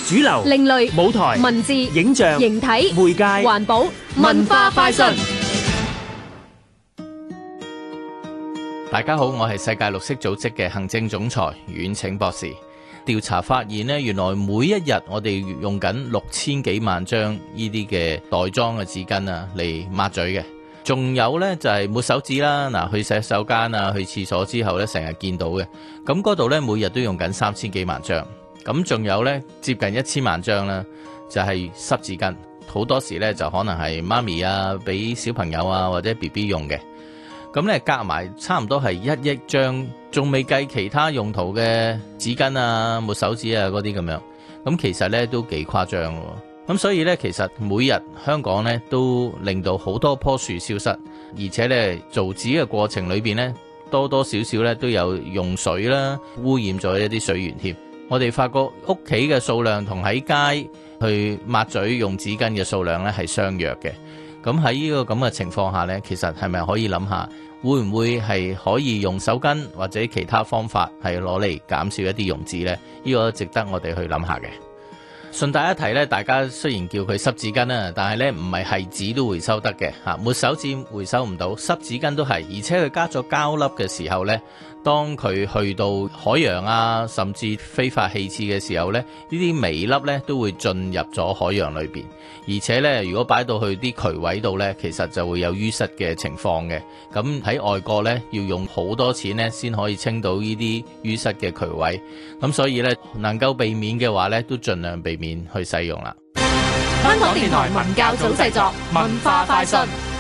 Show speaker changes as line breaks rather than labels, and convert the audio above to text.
主流、
另類、
舞台、
文字、
影像、
形體、
媒介、
環保、文化快訊。
大家好，我係世界綠色組織嘅行政總裁阮拯博士。調查發現呢，原來每一日我哋用緊6000幾萬張呢啲嘅袋裝嘅紙巾啊嚟抹嘴嘅。仲有呢，就係抹手紙啦，嗱，去洗手間啊，去廁所之後呢，成日見到嘅。咁嗰度呢，每日都用緊3000幾萬張。咁仲有呢，接近1000萬張啦，就係濕紙巾。好多時呢，就可能係媽咪啊，俾小朋友啊或者 BB 用嘅。咁咧夾埋差唔多係1億張，仲未計其他用途嘅紙巾啊、抹手紙啊嗰啲咁樣。咁其實咧都幾誇張喎。咁所以咧，其實每日香港咧都令到好多棵樹消失，而且咧造紙嘅過程裏邊咧多多少少咧都有用水啦，污染咗一啲水源添。我哋發覺屋企嘅數量同喺街去抹嘴用紙巾嘅數量咧係相若嘅。咁喺呢個咁嘅情況下呢，其實係咪可以諗下，會唔會係可以用手巾或者其他方法係攞嚟減少一啲用紙呢？呢個值得我哋去諗下嘅。順帶一提呢，大家雖然叫佢濕紙巾啦，但係呢唔係紙都回收得嘅嚇，抹手紙回收唔到，濕紙巾都係，而且佢加咗膠粒嘅時候呢，當佢去到海洋啊，甚至非法棄置嘅時候呢，呢啲微粒呢都會進入咗海洋裏邊，而且呢，如果擺到去啲渠位度呢，其實就會有淤塞嘅情況嘅。咁喺外國呢，要用好多錢呢先可以清到呢啲淤塞嘅渠位，咁所以呢，能夠避免嘅話呢，都盡量避免去使用啦。
香港電台文教組製作，文化快訊。